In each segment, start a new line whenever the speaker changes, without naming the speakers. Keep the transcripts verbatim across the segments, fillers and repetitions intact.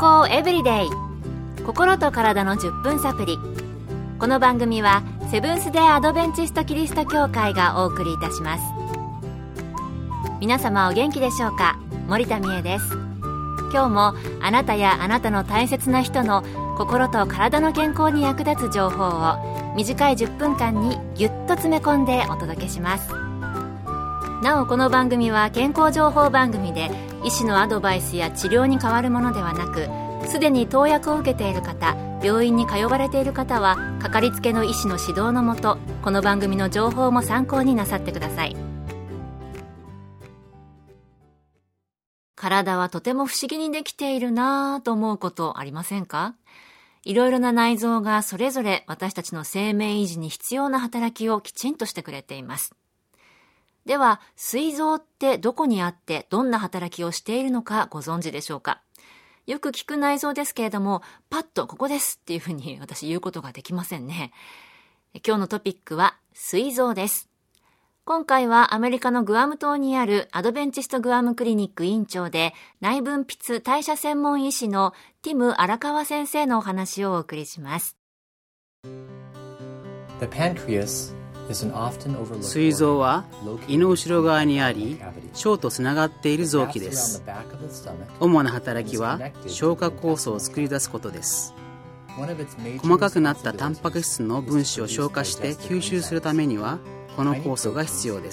康エブリデイ、心と体のじゅっぷんサプリ。この番組はセブンス・デー・アドベンチスト・キリスト教会がお送りいたします。皆様お元気でしょうか。森田美恵です。今日もあなたやあなたの大切な人の心と体の健康に役立つ情報を短いじゅっぷんかんにぎゅっと詰め込んでお届けします。なおこの番組は健康情報番組で医師のアドバイスや治療に代わるものではなく、すでに投薬を受けている方、病院に通われている方はかかりつけの医師の指導のもと、この番組の情報も参考になさってください。体はとても不思議にできているなぁと思うことありませんか？いろいろな内臓がそれぞれ私たちの生命維持に必要な働きをきちんとしてくれています。では、膵臓ってどこにあってどんな働きをしているのかご存知でしょうか？よく聞く内臓ですけれども、パッとここですっていうふうに私言うことができませんね。今日のトピックは膵臓です。今回はアメリカのグアム島にあるアドベンチストグアムクリニック院長で内分泌代謝専門医師のティム荒川先生のお話をお送りします。
The pancreas
膵臓は胃の後ろ側にあり、腸とつながっている臓器です。主な働きは消化酵素を作り出すことです。細かくなったタンパク質の分子を消化して吸収するためにはこの酵素が必要です。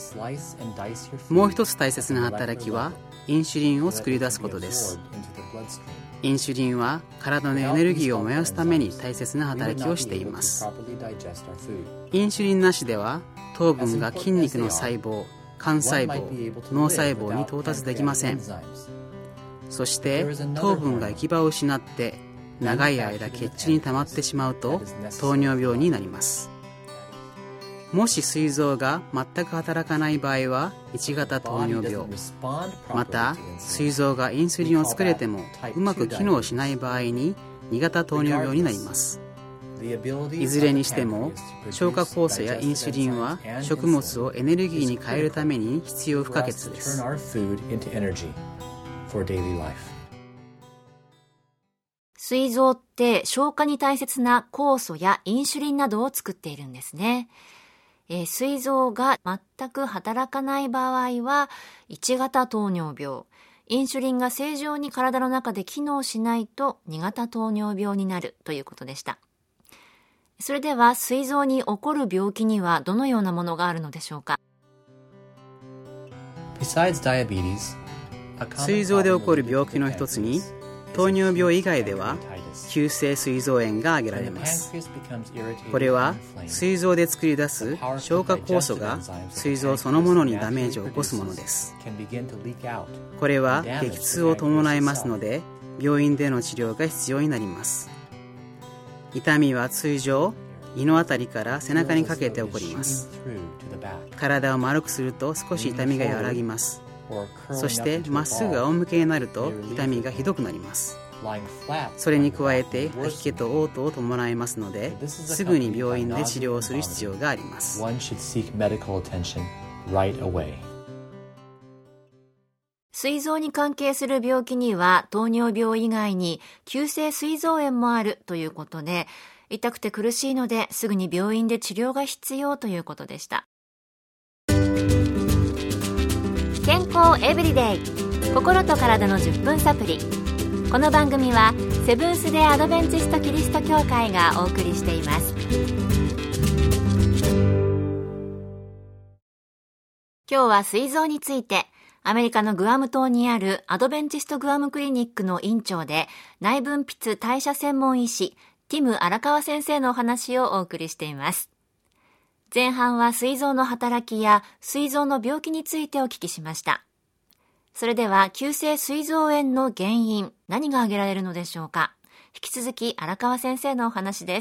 もう一つ大切な働きはインシュリンを作り出すことです。インシュリンは体のエネルギーを燃やすために大切な働きをしています。インシュリンなしでは糖分が筋肉の細胞、幹細胞、脳細胞に到達できません。そして糖分が行き場を失って長い間血中に溜まってしまうと糖尿病になります。もし膵臓が全く働かない場合はいち型糖尿病、また膵臓がインスリンを作れてもうまく機能しない場合にに型糖尿病になります。いずれにしても消化酵素やインスリンは食物をエネルギーに変えるために必要不可欠です。
膵臓って消化に大切な酵素やインシュリンなどを作っているんですね。えー、膵臓が全く働かない場合はいち型糖尿病、インシュリンが正常に体の中で機能しないとに型糖尿病になるということでした。それでは膵臓に起こる病気にはどのようなものがあるのでしょうか？
膵臓で起こる病気の一つに糖尿病以外では急性膵臓炎が挙げられます。これは膵臓で作り出す消化酵素が膵臓そのものにダメージを起こすものです。これは激痛を伴いますので病院での治療が必要になります。痛みは通常胃のあたりから背中にかけて起こります。体を丸くすると少し痛みが和らぎます。そしてまっすぐ仰向けになると痛みがひどくなります。それに加えて吐き気と嘔吐を伴いますので、すぐに病院で治療をする必要があります。
膵臓に関係する病気には糖尿病以外に急性膵臓炎もあるということで、痛くて苦しいのですぐに病院で治療が必要ということでした。健康エブリデイ、心と体のじゅっぷんサプリ。この番組はセブンス・デー・アドベンチスト・キリスト教会がお送りしています。今日は膵臓について、アメリカのグアム島にあるアドベンチストグアムクリニックの院長で内分泌代謝専門医師ティム荒川先生のお話をお送りしています。前半は膵臓の働きや膵臓の病気についてお聞きしました。それでは急性膵臓炎の原因、何が挙げられるのでしょうか。引き続き荒川先生のお話です。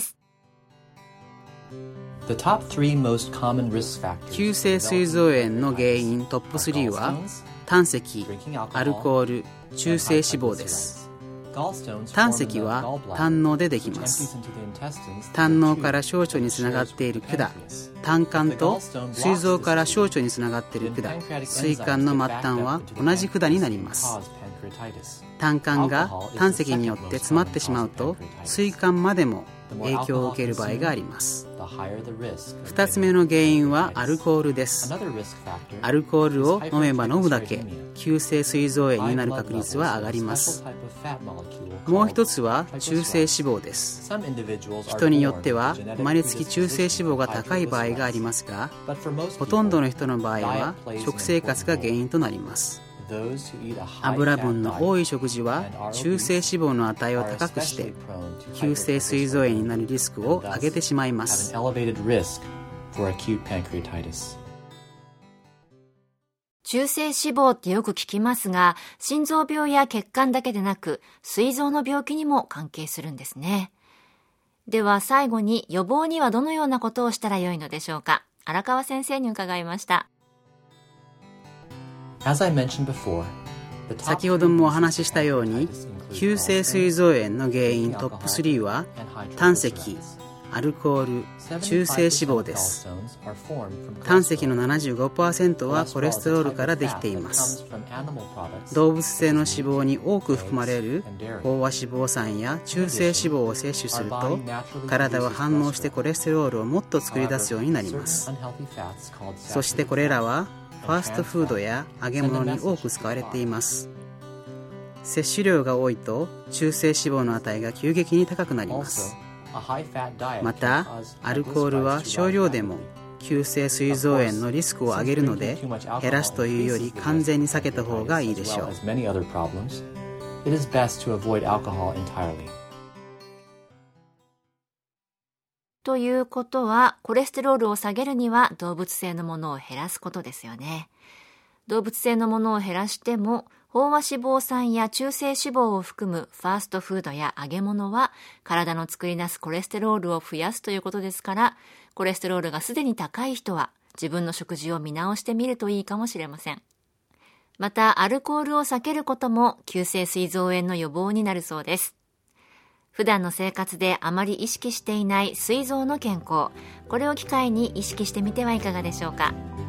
急性膵臓炎の原因トップスリーは胆石、アルコール、中性脂肪です。胆石は胆のうでできます。胆のうから小腸につながっている管、胆管と膵臓から小腸につながっている管、膵管の末端は同じ管になります。 胆管が胆石によって詰まってしまうと膵管までも影響を受ける場合があります。ふたつめの原因はアルコールです。アルコールを飲めば飲むだけ急性膵臓炎になる確率は上がります。もう一つは中性脂肪です。人によっては生まれつき中性脂肪が高い場合がありますが、ほとんどの人の場合は食生活が原因となります。油分の多い食事は中性脂肪の値を高くして急性膵臓炎になるリスクを上げてしまいます。
中性脂肪ってよく聞きますが、心臓病や血管だけでなく膵臓の病気にも関係するんですね。では最後に、予防にはどのようなことをしたらよいのでしょうか。荒川先生に伺いました。
先ほどもお話ししたように、急性膵臓炎の原因トップスリーは胆石、アルコール、中性脂肪です。胆石の ななじゅうごパーセント はコレステロールからできています。動物性の脂肪に多く含まれる飽和脂肪酸や中性脂肪を摂取すると、体は反応してコレステロールをもっと作り出すようになります。そしてこれらはファーストフードや揚げ物に多く使われています。摂取量が多いと中性脂肪の値が急激に高くなります。またアルコールは少量でも急性膵臓炎のリスクを上げるので、減らすというより完全に避けた方がいいでしょう。
ということは、コレステロールを下げるには動物性のものを減らすことですよね。動物性のものを減らしても、飽和脂肪酸や中性脂肪を含むファーストフードや揚げ物は体の作り出すコレステロールを増やすということですから、コレステロールがすでに高い人は自分の食事を見直してみるといいかもしれません。またアルコールを避けることも急性膵臓炎の予防になるそうです。普段の生活であまり意識していない膵臓の健康、これを機会に意識してみてはいかがでしょうか。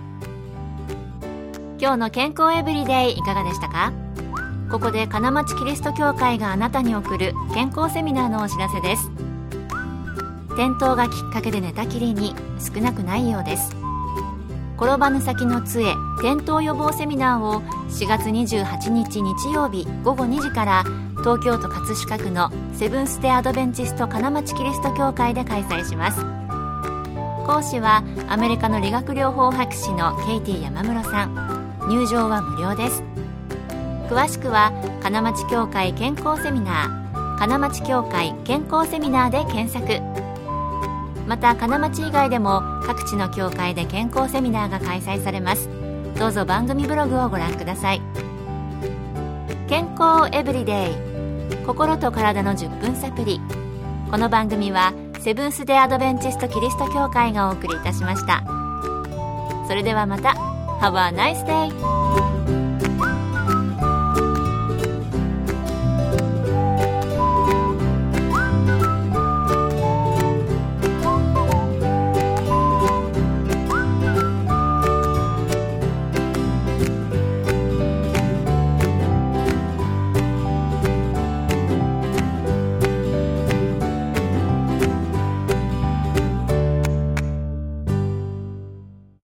今日の健康エブリデイいかがでしたか。ここで金町キリスト教会があなたに送る健康セミナーのお知らせです。転倒がきっかけで寝たきりに少なくないようです。転ばぬ先の杖、転倒予防セミナーをしがつにじゅうはちにち日曜日ごごにじから東京都葛飾区のセブンス・デ・アドベンチスト金町キリスト教会で開催します。講師はアメリカの理学療法博士のケイティ山室さん。入場は無料です。詳しくは金町教会健康セミナー、金町教会健康セミナーで検索。また金町以外でも各地の教会で健康セミナーが開催されます。どうぞ番組ブログをご覧ください。健康エブリデイ、心と体のじゅっぷんサプリ。この番組はセブンス・デ・アドベンチスト・キリスト教会がお送りいたしました。それではまた。Have a nice day!